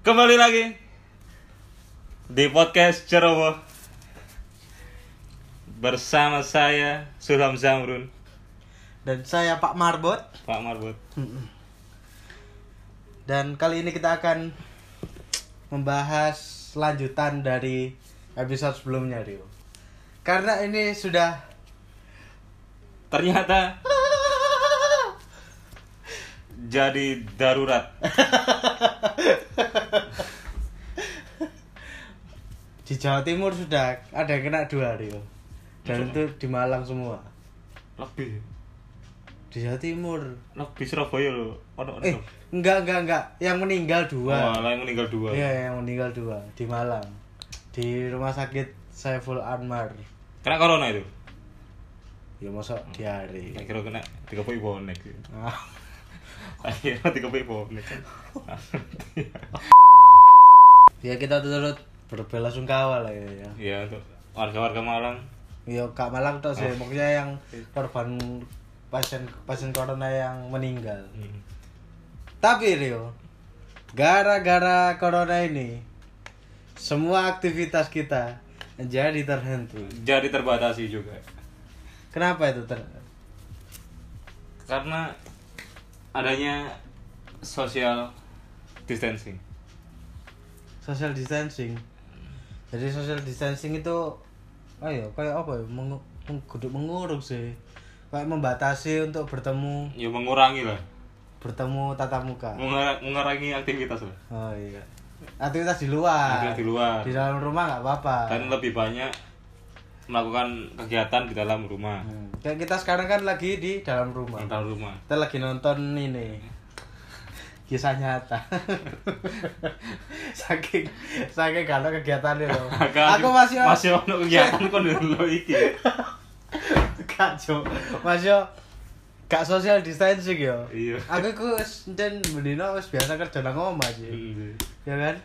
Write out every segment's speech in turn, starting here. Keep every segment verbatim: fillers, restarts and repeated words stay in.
Kembali lagi di podcast Ceroboh bersama saya Sulham Zamrun dan saya Pak Marbot. Pak Marbot. Dan kali ini kita akan membahas lanjutan dari episode sebelumnya, Rio. Karena ini sudah ternyata jadi darurat. Di Jawa Timur sudah ada yang kena dua, Rio. Dan itu di Malang semua. Lebih Di Jawa Timur. lebih Surabaya loh. Ono Eh, enggak enggak enggak. Yang meninggal dua. Oh, yang meninggal dua. Iya, yang meninggal dua di Malang. Di rumah sakit Saiful Anwar. Kena corona itu. Ya masa diare. Tak kira kena tiga puluh bonek. Ah. Akhirnya tiga puluh bonek. Ya kita turut berbelasungkawa lah ya. Ya, Iya, untuk warga-warga Malang. ya Kak Malang tuh sih, Oh. maksudnya yang korban pasien pasien corona yang meninggal. Hmm. Tapi Rio, gara-gara corona ini, semua aktivitas kita jadi terhenti. Jadi terbatasi juga. Kenapa itu ter? Karena adanya social distancing. Social distancing. Jadi social distancing itu, ayo kayak apa ya? Mengu menguduk menguruk sih. Kayak membatasi untuk bertemu Ya mengurangi lah. bertemu tatap muka. Mengura- mengurangi aktivitas lah. Oh iya. Aktivitas di luar. Aktivitas di luar. Di dalam rumah nggak apa-apa. Dan lebih banyak melakukan kegiatan di dalam rumah. Hmm. Kayak kita sekarang kan lagi di dalam rumah. Di dalam rumah. Kita lagi nonton ini kisah nyata. saking saking gak ada kegiatan itu. Aku masih masih ono kegiatan kon lho iki. gak jo. Masih gak social distancing yo. Iya. Aku ku wis nden bendino wis biasa kerja nang omah sih. Hmm. Ya kan?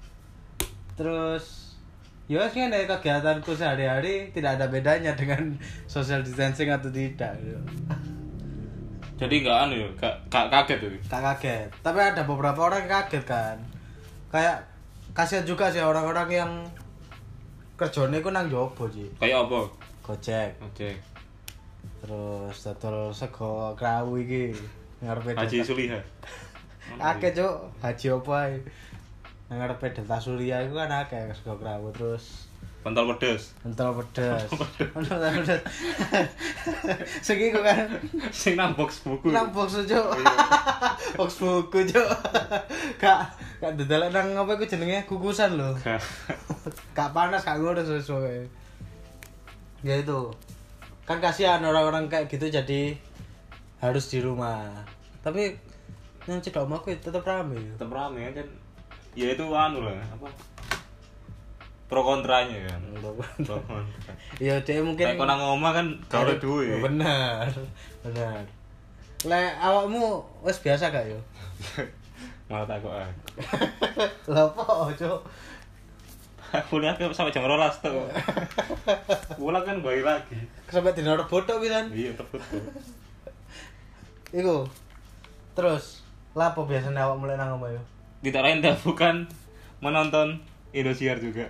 Terus ya wis ngene kegiatanku sehari-hari tidak ada bedanya dengan social distancing atau tidak. Yo. Jadi enggak anu ya, gak, gak kaget tuh. Tak kaget. Tapi ada beberapa orang yang kaget kan. Kayak kasihan juga sih orang-orang yang kerjane ku nang jobo sih. Kayak apa? Gojek. Oke. Terus dodol sego krawu iki ngarepe Haji Delta- Suliha. Akeh cuk, haji apa ae. Nang ngarepe Delta Surya iku kan akeh sego krawu terus Pentol pedes. pentol pedes. Pentol pedes. Segi kok kan Sing nang box buku. nang box cuk. Box buku cuk. Kak, kak dodol nang apa iku jenenge kukusan lho. Gak. Gak panas gak ngurus sesuai. Ya itu. Kan kasihan orang-orang kayak gitu jadi harus di rumah. Tapi yang cedok omahku tetap rame. Tetep rame kan. Ya itu anu lah, apa? Pro kontranya kan. Pro kontra. Ya dia mungkin Kayak konang omah kan gak ada duit. Benar. Benar. Lek awakmu wis biasa gak yo? Malah takut ah. Lah apa, Cuk? Kuliah ke sampai jam dua belas tuh. Pulang kan balik lagi. Sampai dino Rebo tok pisan. Iya, tepat tuh. Iku. Terus, lah apa biasanya awak mulai nang omah yo? Tidak lain dan bukan menonton Indosiar juga.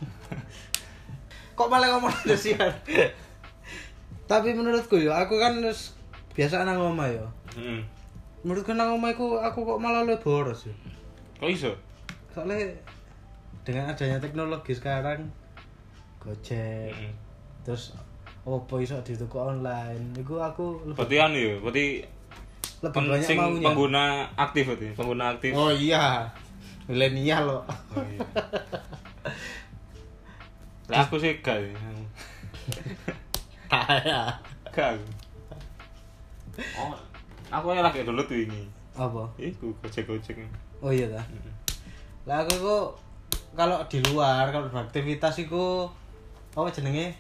Kok malah ngomong Indosiar? Tapi menurutku yo, aku kan wis biasa nang omah yo. Heeh. Menurutku nang omah iku aku kok malah luwih boros yo. Kok iso? Soalnya dengan adanya teknologi sekarang Gojek, Heeh. terus opo iso dituku online. Iku aku lebih, Berarti anu ya, berarti lebih pen- banyak sing maunya. pengguna aktif berarti, pengguna aktif. Oh iya. Milenial loh. Oh, iya. Lah aku sih gak. ya. Kayak Gak. aku. Oh, aku yang lagi download tuh ini. apa? Iku Gojek-Gojek. Oh iya dah. Lah aku kok kalau di luar, kalau beraktivitas iku apa jenenge?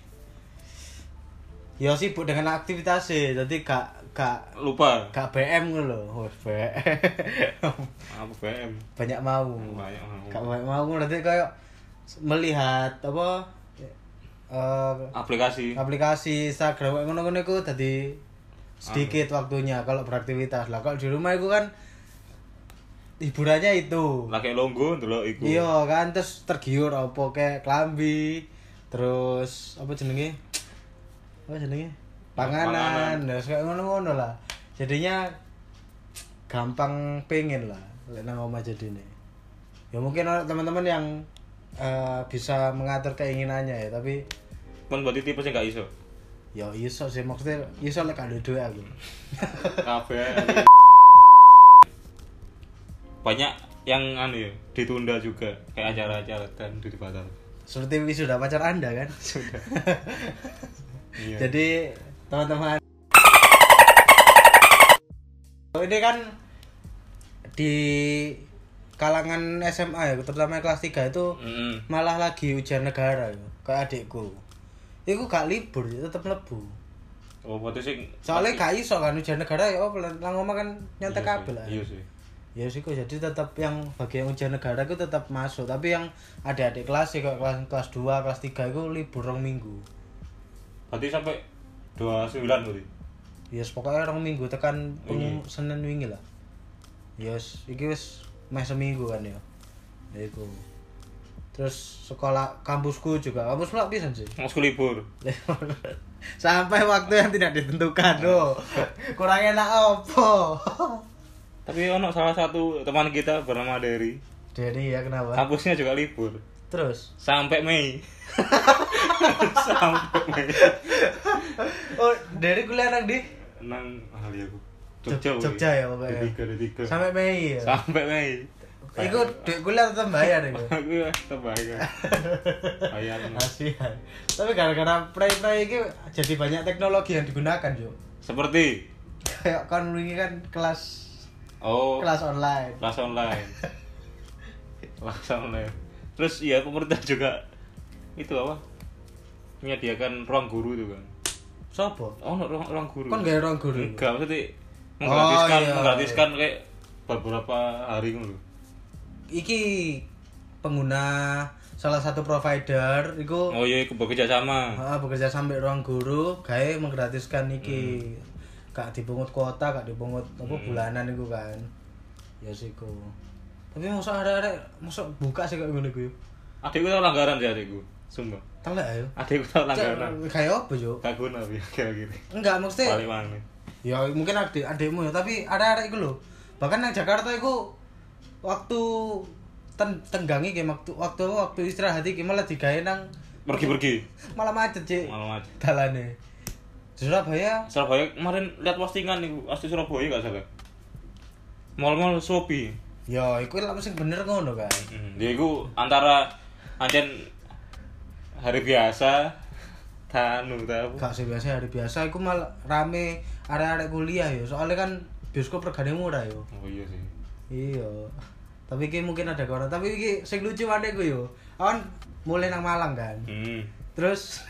Ya sibuk dengan aktivitas sih, jadi gak gak Lupa. gak B M ngono lho. Oh, B M. Apa B M? Banyak mau. Banyak mau. Gak banyak mau berarti kayak melihat apa eh Aplikasi. aplikasi Instagram kayak ngono-ngono iku dadi sedikit waktunya kalau beraktivitas. Lah kalau di rumah iku kan hiburannya itu. Lagi longgo ndelok iku. Iya kan terus tergiur apa kayak klambi. Terus apa jenenge? Apa jenenge? Panganan. Terus kayak ngono-ngono lah. Jadinya gampang pengen lah lek nang omah jadine. Ya mungkin ada teman-teman yang uh, bisa mengatur keinginannya ya, tapi Kon berarti tipe sing gak iso. ya iso sih maksudnya iso lek gak duwe aku. Kabeh. Banyak yang anu ya, ditunda juga kayak acara-acara dan dibatal. Seperti wisuda pacar Anda kan? Sudah. Iya. Jadi teman-teman ini kan di kalangan S M A ya, terutama kelas tiga itu Mm-hmm. malah lagi ujian negara ya, kayak adikku. Iku gak libur, tetep mlebu. Oh, berarti sing Soalnya gak iso kan ujian negara ya, oh nang omah kan nyantek Iya sih, kabel lah. Iya sih. Ya sih kok jadi tetap yang bagian ujian negara itu tetap masuk, tapi yang adik-adik kelas ya kayak kelas kelas dua, kelas tiga itu libur rong minggu. Berarti sampai dua puluh sembilan berarti. Ya yes, pokoknya rong minggu tekan Iya. Senin wingi lah. Ya yes, iki wis meh seminggu kan ya. Ya iku. Terus sekolah kampusku juga, kampus pula pisan sih. Masuk libur. Sampai waktu yang tidak ditentukan loh. Kurang enak opo. Tapi ono salah satu teman kita bernama Dery. Dery ya kenapa? Kampusnya juga libur. Terus Sampai Mei. Sampai Mei. oh, Dery kuliah nang di Nang ahli aku. Jogja, woy. Jogja ya pokoknya. D tiga, D tiga. Sampai Mei ya. Sampai Mei. Iku duit kuliah tetep bayar iku. Aku terbayar. Bayar. Kasihan. Tapi gara-gara pray-pray iki jadi banyak teknologi yang digunakan, Jo. Seperti Kayak kan wingi kan kelas oh, kelas online. kelas online. Kelas online. Terus iya pemerintah juga itu apa? Menyediakan ruang guru itu kan. Sopo? Oh, no, ruang, ruang guru. Kon gawe ruang guru. Enggak, maksudnya menggratiskan, Oh, iya. menggratiskan kayak beberapa hari ngono. Iki pengguna salah satu provider iku Oh iya, iku bekerja sama. heeh bekerja sampai ruang guru gawe menggratiskan iki. Gak dipungut kuota, gak dipungut apa bulanan iku kan. Ya siku. Tapi mosok arek-arek mosok buka sih kok ngono iku. Adikku tau langgaran sih adikku. Sumpah. Telek ayo. Adikku tau langgaran. Kayak apa, Jo? Gak guna ya kira-kira. Enggak, maksudnya Balik mana? ya mungkin adik adikmu ya, tapi ada arek iku lho. Bahkan nang Jakarta iku waktu ten tenggangi iki waktu waktu waktu istirahat iki malah digawe nang Pergi-pergi. malah macet, Cik. Malam aja. Dalane. Di Surabaya Surabaya kemarin lihat postingan nih, asli Surabaya gak salah. Mall-mall Shopee. ya iku lah sing bener ngono kan. Hmm, dia itu antara ancen hari biasa tanu tahu. Gak sih biasa hari biasa iku malah rame arek-arek kuliah ya. Soalnya kan bioskop regane murah yo. Oh iya sih. Iya. Tapi iki mungkin ada corona, tapi iki sing lucu adekku yo. Awan mulai nang Malang kan. Hmm. Terus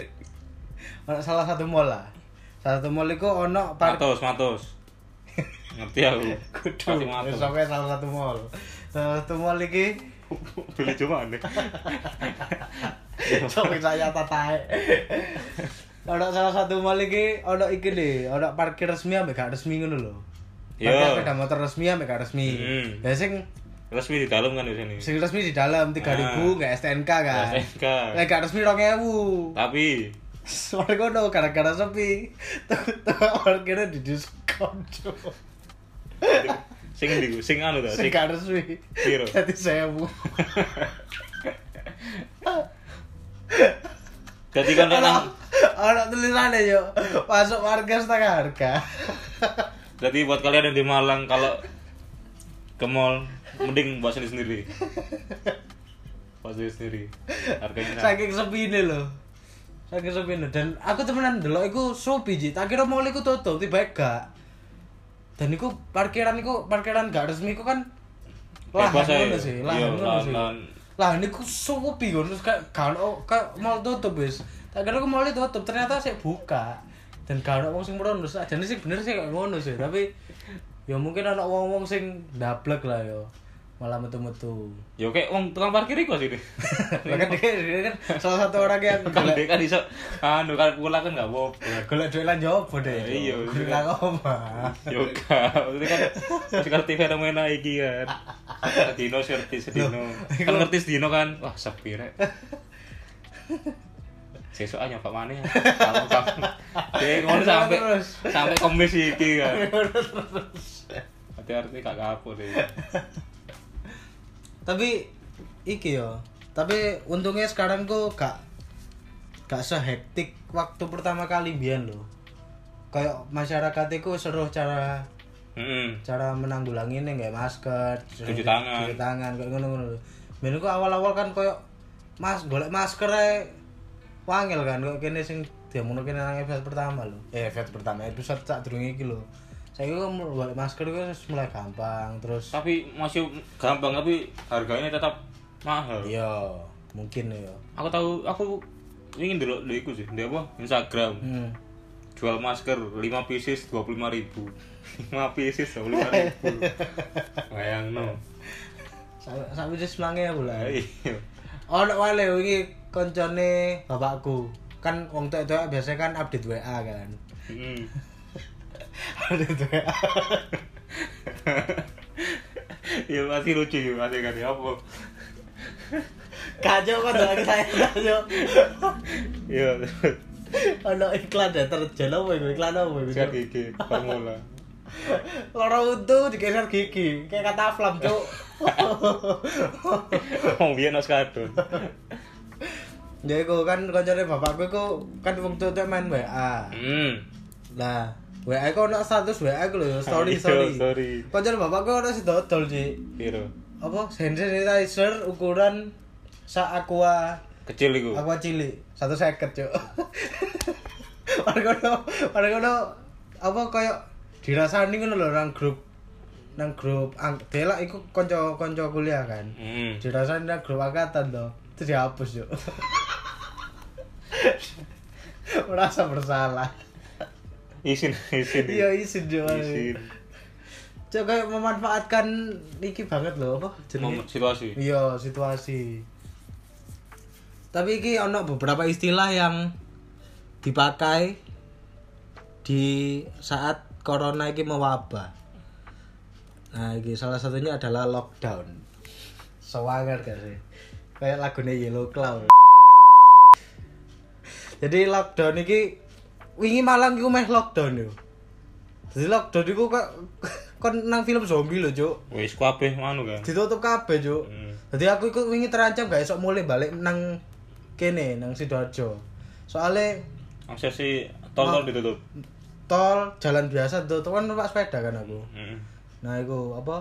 ono salah satu mall lah. Salah satu mall iku ono park Matos, matos. Ngerti aku. kudu. Pasti matos. Sampai salah satu mall. Salah satu mall iki Beli cuma nih. sampai saya tatae. Ono salah satu mall iki ono iki lho, ono parkir resmi ambek gak resmi ngono lho. Yo. Parkir sepeda motor resmi ambek gak resmi. Hmm. Ya sing Resmi di dalam kan di sini. sing resmi di dalam tiga ribu Ah. gak S T N K kan. S T N K. Lek gak resmi dua ribu. Tapi Soalnya kono gara-gara sepi. Tuh parkirnya di diskon, Cuk. sing ndi sing anu ta? Sing gak resmi. Piro? Dadi seribu. Jadi kan Ono nang ono tulisannya yo. Masuk parkir setengah harga. jadi buat kalian yang di Malang kalau ke mall mending buat sendiri sendiri. Buat sendiri sendiri. Harganya sama. Saking sepine lho. Saking sepine dan aku temenan ndelok iku Shopee Ji. Tak kira mall iku tutup, tiba gak. Dan iku parkiran iku parkiran gak resmi iku kan lahan Bebas aja. ngono sih, lahan Iya, ngono lahan- sih. lahan. Lah niku Shopee ngono terus kayak gak ono kayak mall tutup wis. Tak kira iku mall tutup, ternyata sik buka. Dan gak ono wong sing merono, ajane sih bener sih kayak ngono sih, tapi ya mungkin ana wong-wong sing ndablek lah yo. malah metu-metu. Ya kayak wong tukang parkir iku sih. Bahkan dia, dia kan salah satu orang yang Kan dia kan iso anu kan pulang kan enggak apa-apa. golek duit lan jopo deh. Iya, golek apa? Yo kan, itu kan masih ngerti fenomena iki kan. Dino ngerti sedino. Kan ngerti sedino kan. Wah, sepi rek. Sesuk aja Pak Mane. Kalau kamu dia ngono sampai sampai komis iki kan. Hati-hati gak kapur deh. Tapi iki yo. Tapi untungnya sekarang kok gak gak sehektik waktu pertama kali biyen lho. Kayak masyarakat itu seru cara Heeh. cara menanggulangi ini nggak masker, Cuci tangan. cuci tangan kayak ngono-ngono. Ben kok awal-awal kan koyo mas golek masker ae wangil kan kok kene sing diomongno kene nang episode pertama lho. Eh episode pertama episode sak durunge iki lho. Saiki kok golek masker itu wis mulai gampang terus. Tapi masih gampang tapi harganya tetap mahal. Iya, mungkin ya. Aku tahu aku ingin dulu dulu iku sih, dia apa? Instagram. Hmm. Jual masker lima pieces dua puluh lima ribu. lima pieces dua puluh lima ribu. Bayangno. Sampai wis semange aku lah. Iya. Ono wale wingi koncone bapakku. Kan wong tok-tok biasanya kan update W A kan. Heeh. Update W A. Ya masih lucu ya, masih kan ya apa? Kacau kan lagi saya kacau. Iya. Ono iklan deterjen apa iku? Iklan apa iku? Sikat gigi formula. Lara untu digeser gigi, kayak kata flam, Cuk. Wong biyen nos kadon. Ya iku kan koncone bapakku iku kan wong tok main W A. Hmm. Lah, W A iku ono status W A iku lho, story Iya, story. story. Koncone bapakku ono sing dodol, Ci. Piro? Apa? Hand sanitizer ukuran sak aqua Kecil iku. aqua cilik, satu seket, Cuk. Margono, margono apa koyo dirasani ngono lho nang grup nang grup ang delak iku kanca-kanca kuliah kan. Heeh. Dirasani nang grup angkatan to. Itu dihapus, Cuk. Merasa bersalah. Isin, isin. Iya, izin, Cuk. Isin. Cuk kayak memanfaatkan iki banget lho apa Momen situasi. Iya, situasi. Tapi iki ono beberapa istilah yang dipakai di saat corona iki mewabah. Nah, iki salah satunya adalah lockdown. Sewanger gak sih? Kayak lagunya Yellow Claw. Jadi lockdown iki wingi Malang iku meh lockdown yo. Jadi lockdown iku kok kon nang film zombie lho, Cuk. Wis kabeh ngono kan. Ditutup kabeh, Cuk. Hmm. Jadi aku iku wingi terancam gak esok mulai balik nang kene nang Sidoarjo. Soale Akses si tol-tol ditutup. tol jalan biasa ditutup kan numpak sepeda kan aku. Heeh. Nah, iku apa?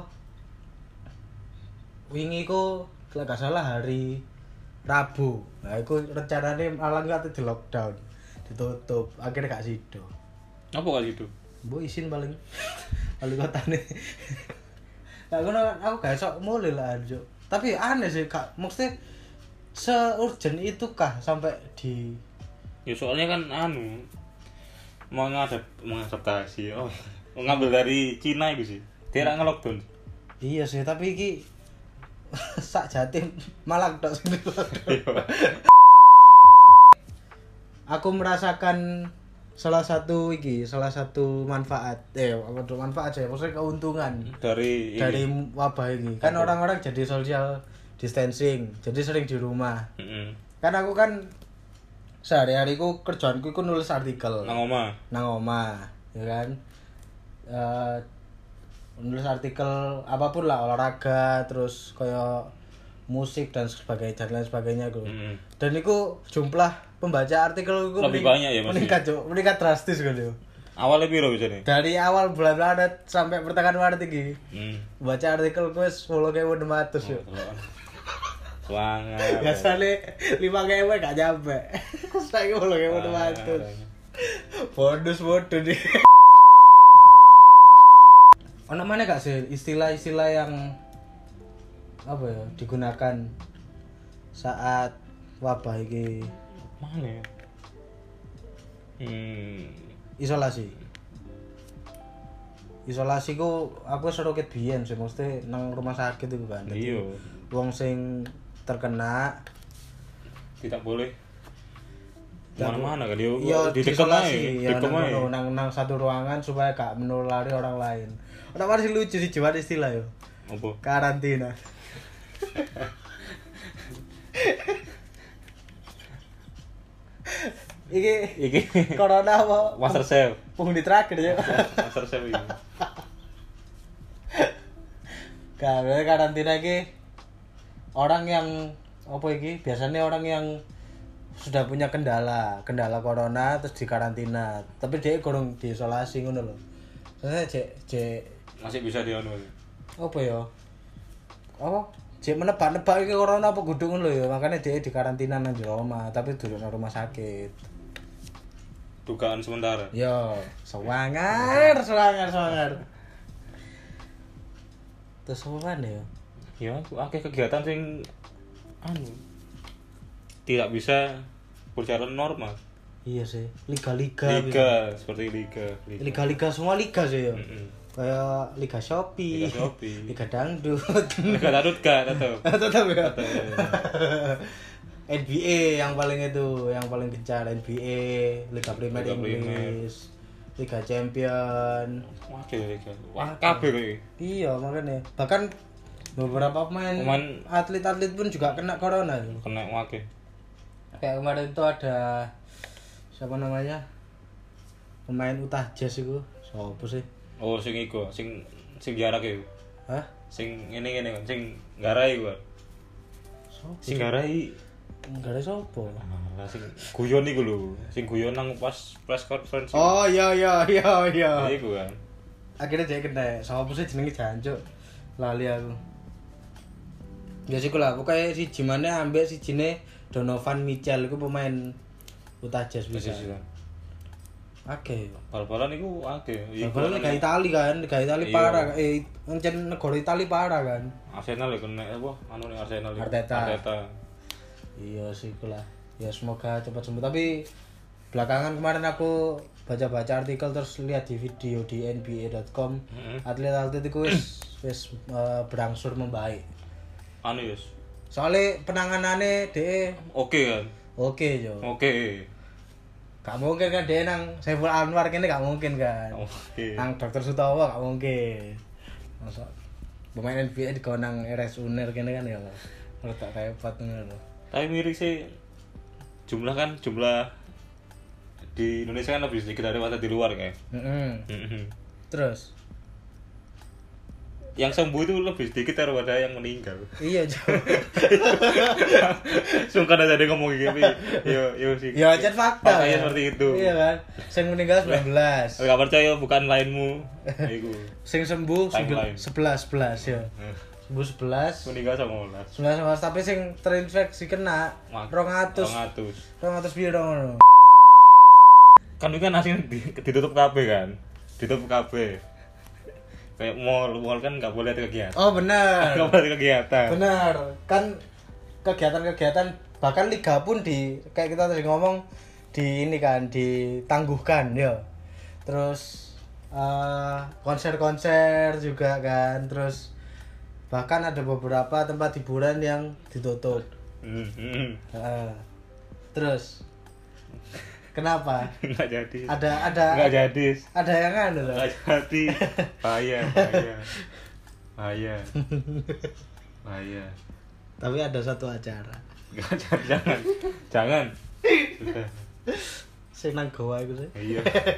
Wingi iku lek gak salah hari Rabu. Nah, iku rencanane Malang kate di lockdown. Ditutup, akhirnya gak sido. Apa kali itu? Mbok isin paling wali kotane. Lah ngono aku gak esok mulai lah, Cuk. Tapi aneh sih, Kak. Maksudnya se-urgent itu kah sampai di Ya soalnya kan anu mau ngadap mengadaptasi. Oh, ngambil dari Cina itu sih. Dia ra nge-lockdown. Iya sih, tapi iki sak Jatim Malang tok sing lockdown. Aku merasakan salah satu iki, salah satu manfaat. Eh, apa tuh manfaat sih? Maksudnya keuntungan Dari dari ini. wabah ini. Kan Apa? orang-orang jadi social distancing, jadi sering di rumah. Heeh. Kan aku kan sehari-hariku kerjaanku iku nulis artikel Nang omah. nang omah, ya kan. Eh nulis artikel apapun lah, olahraga, terus kayak musik dan sebagainya dan lain sebagainya gitu. Heeh. Dan itu jumlah pembaca artikel itu Lebih banyak ya, Mas? meningkat, Cuk. Meningkat drastis gitu. Awalnya piro bisa nih? Dari awal bulan Maret sampai pertengahan Maret iki. Hmm. Baca artikel gue sepuluh ribu enam ratus yuk. Semangat. Biasanya lima ribu gak nyampe. Saya sepuluh ribu enam ratus. Bonus bodoh nih. Ono mana gak sih istilah-istilah yang apa ya digunakan saat wabah ini Mana ya? Hmm. isolasi? isolasi ku aku seru ket biyen sih mesti nang rumah sakit iku kan. Iya. Wong sing terkena Tidak boleh mana-mana kan yo ya ditekan ae, ya ditekan ae. nang, nang nang satu ruangan supaya gak menulari orang lain. Ora masih lucu sih jiwa istilah yo. Apa? Karantina. Iki Iki corona apa? Master Chef. Penghuni terakhir ya. Master Chef iki. Karena karantina iki orang yang apa iki? Biasanya orang yang sudah punya kendala, kendala corona terus dikarantina. Tapi dia kurang diisolasi ngono lho. Soalnya cek cek Masih bisa dianu. apa ya? Apa? Cek menebak-nebak iki corona apa kudu ngono lho ya. Makanya dia dikarantina nang jero omah, tapi duduk nang rumah sakit. Dugaan sementara. Yo, sewangar, sewangar, sewangar. Terus apa ya? Ya, aku akeh kegiatan sing anu tidak bisa berjalan normal. Iya sih, liga-liga. Liga, seperti liga, liga. Liga-liga semua liga sih ya. Mm-mm. Kayak Liga Shopee, Liga Shopee. Liga Dangdut. Liga Dangdut gak tetep. Tetap ya. Tetep. N B A yang paling itu, yang paling gencar N B A, Liga Premier Liga Inggris, Liga Champion. Waduh liga. Wah, kabeh kowe. Iya, makanya. Bahkan beberapa pemain Pemain- atlet-atlet pun juga kena corona. Kena wake. Kayak kemarin itu ada siapa namanya? Pemain Utah Jazz itu. Siapa sih? Oh, sing iku, sing sing jarak iku. Hah? Sing ngene-ngene kan, sing garai iku. Siapa? Sing garai Enggak ada siapa. Alah sing guyon iku lho. Sing guyon nang pas press conference. Oh iya iya iya iya. Ya, iku kan. Akhirnya dia kena. Siapa sih jenenge jancuk? Lali aku. Ya sih lah, pokoknya si Jimane ambek si Jine Donovan Mitchell itu pemain Utah Jazz bisa. Oke. Bal-balan iku akeh. Bal-balan Liga Italia kan, Liga Italia Iya. parah. Eh, encen negara Italia parah kan. Arsenal ya kena apa? Anu ning Arsenal. iku. Arteta. Arteta. Iya sih itulah. Ya semoga cepat sembuh. Tapi belakangan kemarin aku baca-baca artikel terus lihat di video di N B A dot com, Heeh. atlet-atlet itu wis wis eh, berangsur membaik. Anu yus. Soalnya penanganannya de Oke kan. oke yo. Oke. Gak mungkin kan dia nang Saiful Anwar kene gak mungkin kan. Oke. Nang Dokter Sutowo gak mungkin. Masa pemain N B A di nang R S Uner kene kan ya. Rada repot ngono. Tapi mirip sih jumlah kan jumlah di Indonesia kan lebih sedikit daripada di luar kayak. Heeh. Mhm. Terus Yang sembuh itu lebih sedikit daripada yang meninggal. iya jauh. Sungkan aja dia ngomong gitu. Yo yo sih. Ya aja fakta. Faktanya kan? seperti itu. Iya kan. Sing meninggal sembilan belas. Gak percaya bukan lainmu. Iku. Sing sembuh Timeline. sebelas sebelas ya. Eh, Sembuh sebelas. Meninggal sama ulas. sebelas sebelas tapi sing terinfeksi kena dua ratus. Rongatus. dua ratus piro ngono. Kan itu kan aslinya di, ditutup kabeh kan. Ditutup kabeh. Kayak mall, mall kan nggak boleh ada kegiatan. Oh benar. Nggak boleh ada kegiatan. Benar. Kan kegiatan-kegiatan bahkan liga pun di kayak kita tadi ngomong di ini kan ditangguhkan ya. Terus eh, konser-konser juga kan. Terus bahkan ada beberapa tempat hiburan yang ditutup. Hmm, hmm. Heeh. Terus kenapa? Nggak jadi. Ada ada Nggak jadi. ada yang anu loh. Nggak jadi. Bahaya, bahaya. Bahaya. Bahaya. Tapi ada satu acara. Nggak jadi, jangan. Jangan. Sudah. Sing nang goa iku sih. Iya.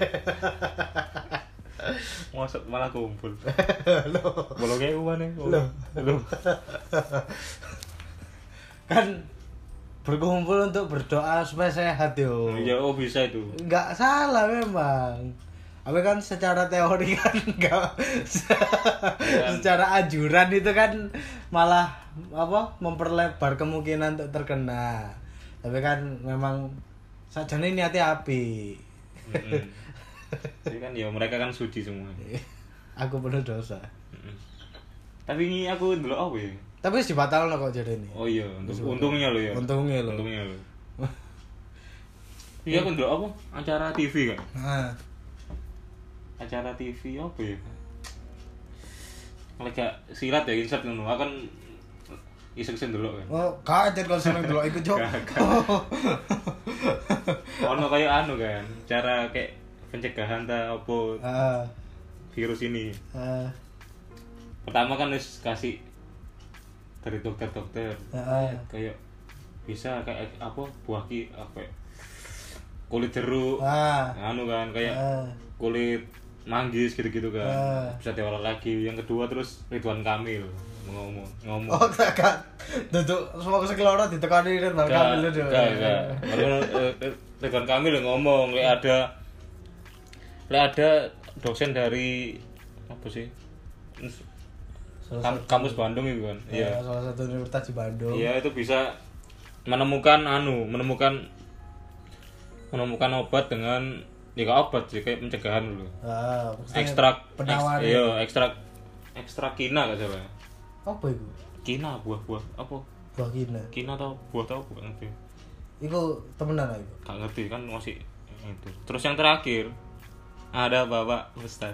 Masuk malah kumpul. Bolong kayak uang nih. Loh. Loh. Kan berkumpul untuk berdoa supaya sehat yo. Ya, oh bisa itu. Enggak salah memang. Tapi kan secara teori kan enggak secara anjuran itu kan malah apa memperlebar kemungkinan untuk terkena. Tapi kan memang sajane niatnya api. Mm-mm. Jadi kan ya mereka kan suci semua. Aku penuh dosa. Mm-mm. Tapi ini aku dulu apa ya? Tapi wis dibatalno kok jadi ini. Oh iya, untuk, untungnya lo ya. Untungnya lo. Untungnya lo. Iya aku dulu apa? Acara T V kan? Nah, Acara T V apa ya? lek gak silat ya insert ngono. Aku kan iseng-iseng delok kan. Oh, kaget kalau seneng delok iku, Cuk. Ono kayak anu kan, cara kayak pencegahan ta opo Heeh. virus ini. Heeh. Pertama kan wis kasih dari dokter-dokter. Heeh. Kayak bisa kayak apa buah ki apa ya, kulit jeruk. Ah. Anu kan kayak Heeh. kulit manggis gitu-gitu kan. Ah. Bisa diolah lagi. Yang kedua terus Ridwan Kamil ngomong ngomong. Oh, gak gak. Duduk semua kesekelora ditekani Ridwan Kamil lho. Gak, gak. Baru Ridwan Kamil ngomong, lek ada lek ada dosen dari apa sih? Kam, kampus Bandung itu kan. Iya, Iya. salah satu universitas di Bandung. Iya, itu bisa menemukan anu, menemukan menemukan obat dengan ya gak obat sih, kayak pencegahan dulu. Ah, maksudnya Ekstrak penawar. eks- iya, ekstrak ekstrak kina gak salah. Apa itu? Kina buah-buah apa? Buah kina. Kina atau buah tau bukan ngerti. Iku temenan lah iku. Gak ngerti kan masih itu. Terus yang terakhir ada Bapak Ustad.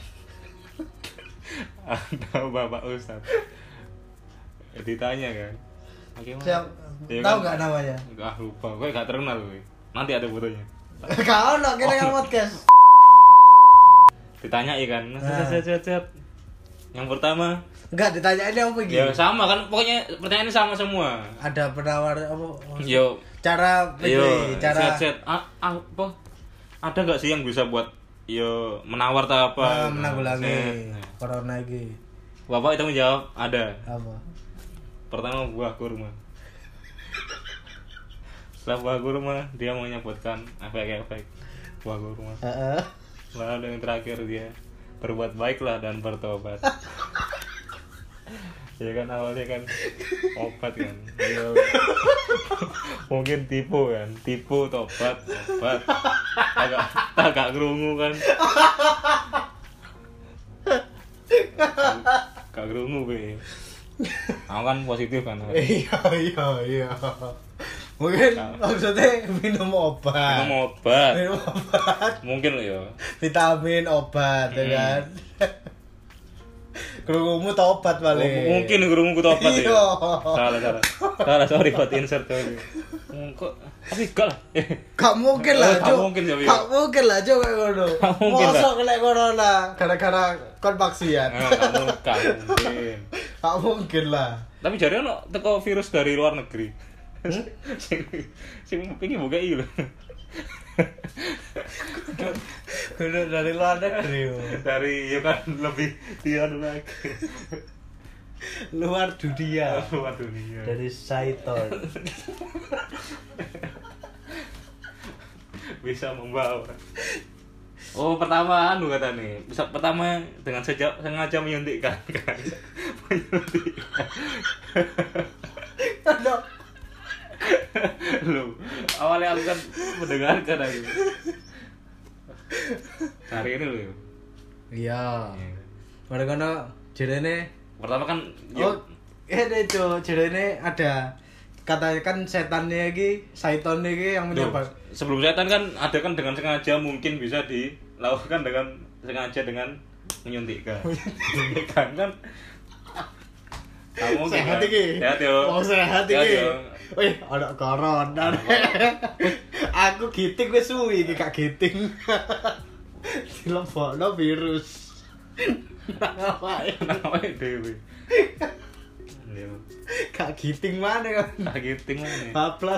Ada Bapak Ustad. Ditanya kan. Bagaimana? Siap. Iya Tahu kan? nggak namanya? Enggak lupa. Gue gak terkenal gue. Nanti ada fotonya. Kau nak kira kan podcast. Ditanya kan. Ah. Cet, cet, cet. Yang pertama, Enggak ditanyain apa gitu. ya sama kan pokoknya pertanyaannya sama semua. Ada penawar apa? Yo, Cara yo, ini, cara set set. Ah, apa? Ada nggak sih yang bisa buat yo menawar atau apa? ah, menanggulangi Set. corona iki. Bapak itu menjawab ada. Apa? Pertama buah kurma. Setelah buah kurma dia menyebutkan efek-efek buah kurma. Heeh. Lalu yang terakhir dia berbuat baiklah dan bertobat. Ya kan awalnya kan obat kan. Ya, mungkin tipu kan, tipu tobat, obat. Agak agak kerungu kan. Gak kerungu be. Aku kan positif kan. Iya iya iya. Mungkin maksudnya minum obat. Minum obat. Minum obat. Mungkin loh ya. Vitamin obat ya kan. Kerungumu tobat Oh, paling. mungkin kerungu tobat ya. Iya. Salah salah. Salah sorry buat insert tadi. Kok tapi enggak lah. Gak mungkin lah, Gak Cuk. mungkin ya, Bio. Gak mungkin lah, Cuk, kayak ngono. Gak mungkin lah. Mosok kena corona gara-gara kon vaksin. Nah, kamu gak mungkin. Gak mungkin lah. Tapi jare ono teko virus dari luar negeri. Sing sing iki buka iki lho. Kudu dari luar negeri. yo. Dari ya kan lebih dia lagi. Luar dunia. Luar dunia. Dari Saiton. Bisa membawa. Oh, pertama anu kata nih. Bisa pertama dengan sejak sengaja menyuntikkan kan. Menyuntikkan. Aduh. Loh, awalnya aku kan mendengarkan aku. Hari ini loh. Iya. Pada kono jerene Pertama kan oh ini Cuk, jerene ada katanya kan setannya iki Saiton iki yang Loh, menyebar. sebelum setan kan ada kan dengan sengaja mungkin bisa dilakukan dengan sengaja dengan menyuntikkan. Menyuntikkan kan kamu Sehat iki. Sehat yo. Oh sehat Sehat, iki. yo. Wih, ada corona. Aku giting wis suwi iki gak giting. Dilebokno virus. Ngapain? Namanya Dewi. Iya. Gak giting mana kan? Tak giting mana? Bablas.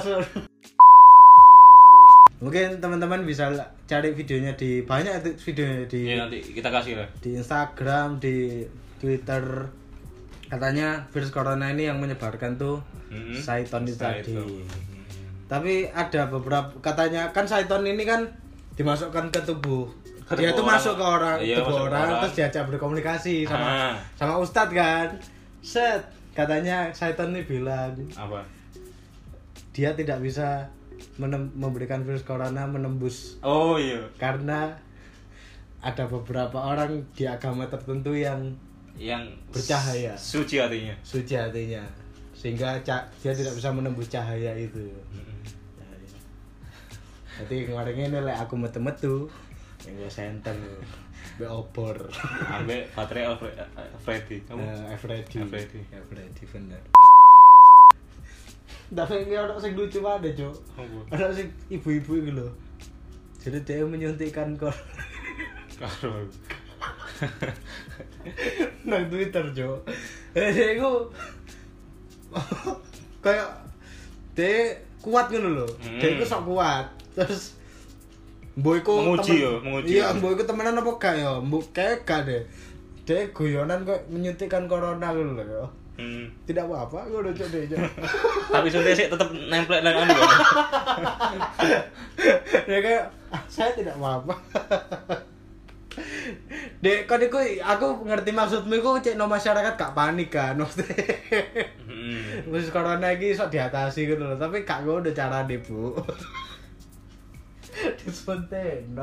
Mungkin teman-teman bisa cari videonya di banyak itu videonya di Iya nanti kita kasih lah. di Instagram, di Twitter. Katanya virus corona ini yang menyebarkan tuh Mm-mm. Saiton itu tadi. Saiton. Tapi ada beberapa katanya kan Saiton ini kan dimasukkan ke tubuh. Ke Dia tubuh tuh orang. masuk ke orang, Iya, tubuh masuk ke orang, orang. terus diajak berkomunikasi sama Ah. sama ustadz kan. Set, katanya Saiton ini bilang Apa? dia tidak bisa menem- memberikan virus corona menembus Oh iya. karena ada beberapa orang di agama tertentu yang Yang bercahaya. Suci hatinya. suci hatinya sehingga ca- dia tidak bisa menembus cahaya itu. Jadi kemarin ini lek aku metu-metu Ego center. Be obor. Ambek baterai Alfred Freddy. Kamu Freddy. Freddy. Freddy bener. Tapi ini orang sing lucu banget, Cuk. Orang sing ibu-ibu iki lho. Jadi dia menyuntikkan kor. Karo. Nang Twitter, Cuk. Eh, dia iku kayak dia kuat ngono lho. Dia iku sok kuat. Terus mbok iku menguji yo, menguji. Iya, mbok iku temenan apa gak ya? Mbok kayak gak deh. Dia guyonan kok menyuntikkan corona ngono lho ya. Hmm. Tidak apa-apa, ngono Cuk deh. Tapi suntik sih tetap nempel nang anu. Dia kayak ah, saya tidak apa-apa. Dek, kan iku aku ngerti maksudmu iku cek no masyarakat gak panik kan. Maksudnya. Heeh. Wis corona iki iso diatasi gitu loh, tapi gak ngono carane, Bu. Disuntik, no.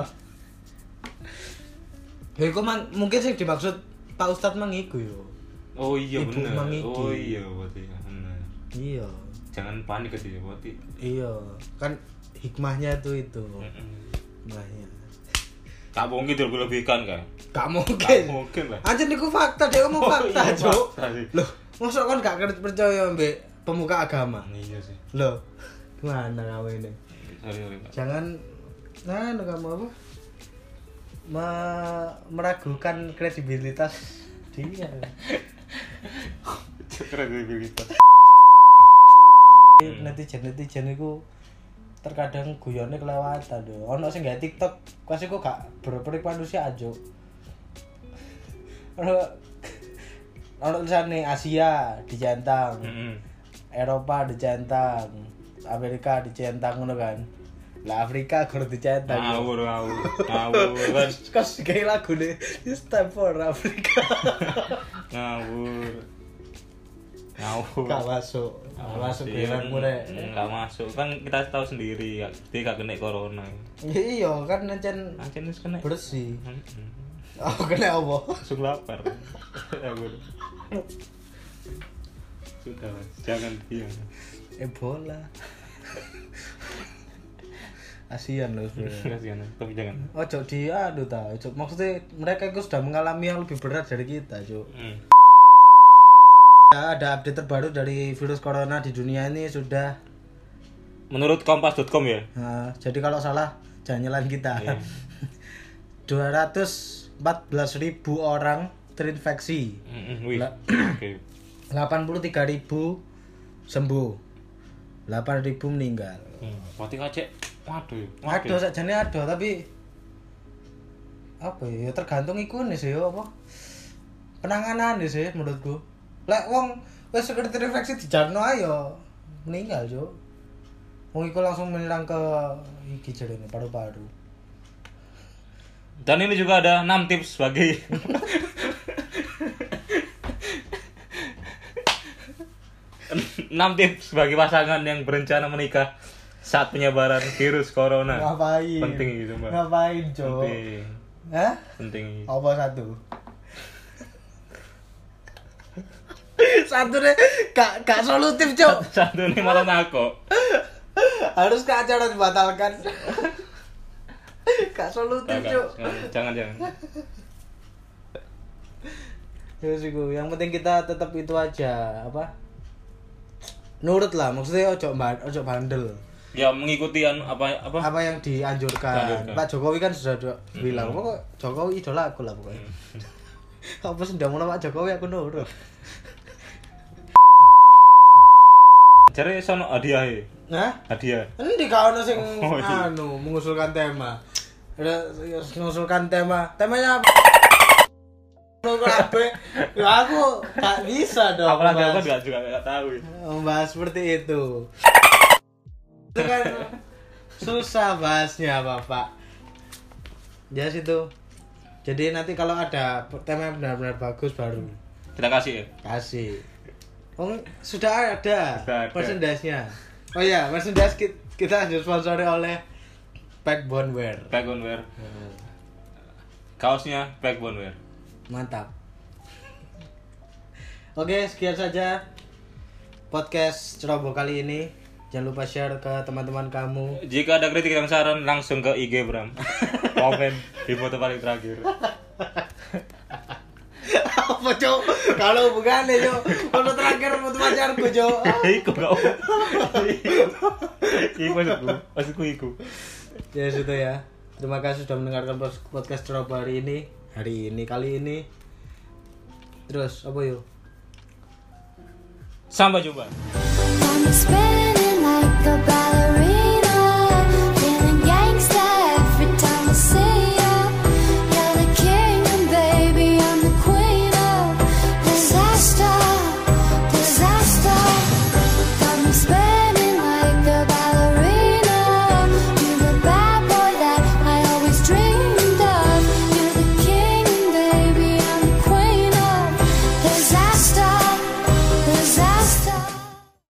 Ya iku mang, mungkin sing dimaksud Pak Ustadz mang iku yo. Oh iya Ibu bener. mang iki. Oh iya berarti bener. Iya. Jangan panik gitu ya berarti. Iya, kan hikmahnya tuh itu. Heeh. Hikmahnya. Gak mungkin dilebih-lebihkan kan? Gak mungkin. Gak mungkin lah. Anjir niku fakta, dia ngomong Oh, fakta, iya, Cuk. fakta sih. Loh, mosok kan gak kerja percaya mbek pemuka agama. Iya sih. Loh, gimana kamu ini? Sorry, sorry, Pak. Jangan nah kamu apa? Me meragukan kredibilitas dia. Kredibilitas. Netizen-netizen itu terkadang guyone kelewatan lho. Ono sing gawe TikTok, kasih kok gak berperik manusia aja. Ono ono tulisane Asia dicentang. Heeh. Eropa dicentang, Amerika dicentang ngono kan. Lah Afrika kudu dicentang. Ngawur, ngawur. Ngawur kan. Kos kayak lagu nih, it's time for Afrika. Ngawur. Ngawur. Gak masuk, gak masuk Iya, bilanganmu rek. Gak masuk. Kan kita tahu sendiri, dia gak kena corona. Iya kan nancen Ancen wis kena. bersih. Heeh. Oh kena apa? Langsung lapar. Ngawur. Sudah, Mas. Jangan diam. Ebola. Asian loh sebenarnya. Kasihan, tapi jangan. Ojo di aduh ta, ojo. Maksudnya mereka itu sudah mengalami yang lebih berat dari kita, Cuk. Hmm. Ya, ada update terbaru dari virus corona di dunia ini sudah. Menurut kompas dot com ya. Nah, jadi kalau salah jangan nyalain kita. Iya. dua ratus empat belas ribu orang terinfeksi. Heeh, wih. Lah. Oke. delapan puluh tiga ribu sembuh. delapan ribu meninggal. Hmm. Berarti kacek. Waduh. Aduh sakjane aduh tapi apa ya, ya tergantung iku nih sih apa penanganan sih menurutku. Lek wong wis sekedar terinfeksi dijarno ayo meninggal, Cuk. Wong iku langsung menyerang ke iki jarene paru-paru. Dan ini juga ada enam tips bagi enam tips bagi pasangan yang berencana menikah saat penyebaran virus corona. Ngapain? Penting gitu, Mbak. Ngapain, Cuk? Penting. Hah? Penting. Apa satu? Satu deh, gak, gak solutif, Cuk. Satu ini malah nako. Harus ke acara dibatalkan. Gak solutif, Cuk. Jangan, jangan. Terus iku, yang penting kita tetap itu aja, apa? Nurut lah, maksudnya ojo ban- ojo bandel. Ya mengikuti an, apa apa? Apa yang dianjurkan. Dianjurkan. Pak Jokowi kan sudah do- Mm-hmm. bilang, "Kok Jokowi idola aku lah pokoknya." Apa sih ndak mau Pak Jokowi aku nurut. Cari sono hadiah ya. Nah, Hadiah. endi ka ono sing Oh, iya. anu mengusulkan tema. Ada mengusulkan tema. Temanya apa? Lo kabeh. Ya aku gak bisa dong. Apalagi aku membahas- enggak juga enggak tahu. membahas seperti itu. Itu kan susah bahasnya, Bapak. Ya situ. Jadi nanti kalau ada tema yang benar-benar bagus baru Kita kasih ya. kasih. Oh, sudah ada Sudah ada. merchandise-nya. Oh iya, merchandise kita, kita disponsori oleh Backbone Wear. Backbone Wear. Kaosnya Backbone Wear. Mantap. Oke, sekian saja podcast Ceroboh kali ini. Jangan lupa share ke teman-teman kamu. Jika ada kritik dan saran langsung ke I G Bram. Komen di foto paling terakhir. Apa cok? Kalau bukan ya cok, foto terakhir foto pacarku cok. Iku gak apa. Iku maksudku, maksudku iku. Ya sudah ya. Terima kasih sudah mendengarkan podcast Ceroboh hari ini. Hari ini kali ini. Terus apa yuk? Sampai jumpa. I'm spinning like a ballerina.